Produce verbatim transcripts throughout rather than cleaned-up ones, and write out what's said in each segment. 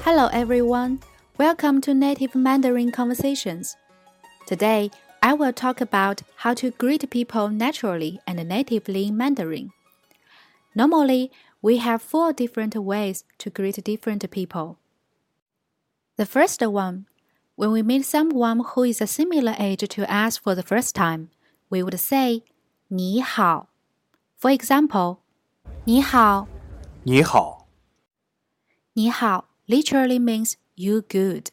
Hello everyone, welcome to Native Mandarin Conversations. Today, I will talk about how to greet people naturally and natively in Mandarin. Normally, we have four different ways to greet different people. The first one, when we meet someone who is a similar age to us for the first time, we would say 你好. For example, 你好. 你好. 你好 literally means you good.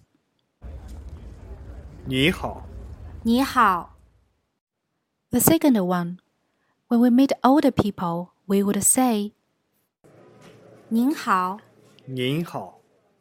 你好. 你好. The second one, when we meet older people, we would say 您好. 您好.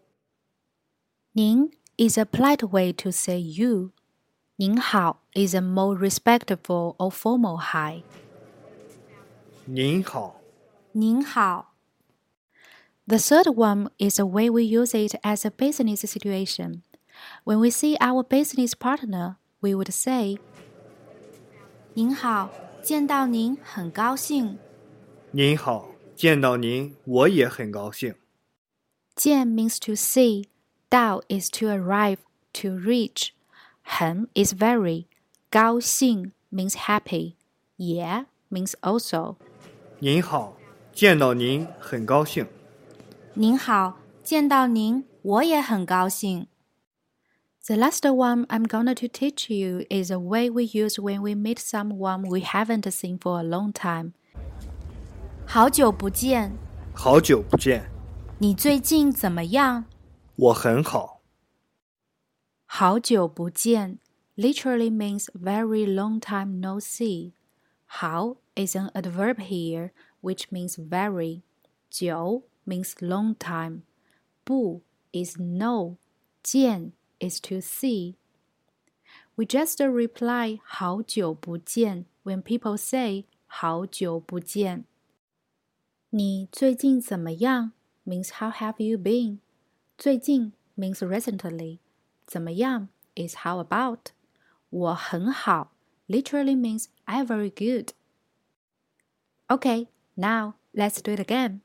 您 is a polite way to say you. 您好 is a more respectful or formal hi. 您好. 您好. The third one is the way we use it as a business situation. When we see our business partner, we would say 您好，见到您很高兴。 您好，见到您我也很高兴。 见 means to see, 到 is to arrive, to reach, 很 is very, 高兴 means happy, 也 means also. 您好，见到您很高兴。 您好，见到您我也很高兴。The last one I'm going to teach you is a way we use when we meet someone we haven't seen for a long time. 好久不见。 好久不见。 你最近怎么样？ 我很好。 好久不见 literally means very long time no see. 好 is an adverb here, which means very. 久 means long time. 不 is no. 见 is to see. We just reply 好久不见 when people say 好久不见。你最近怎么样 means how have you been. 最近 means recently. 怎么样 is how about. 我很好 literally means I'm very good. Okay, now let's do it again.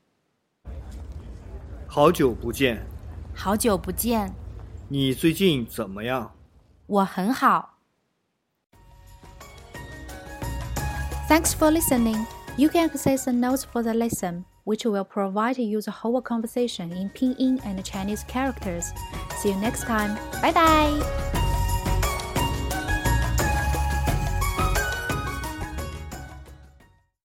好久不见。 好久不见。 你最近怎么样？ 我很好。Thanks for listening. You can access the notes for the lesson, which will provide you the whole conversation in Pinyin and Chinese characters. See you next time. Bye bye.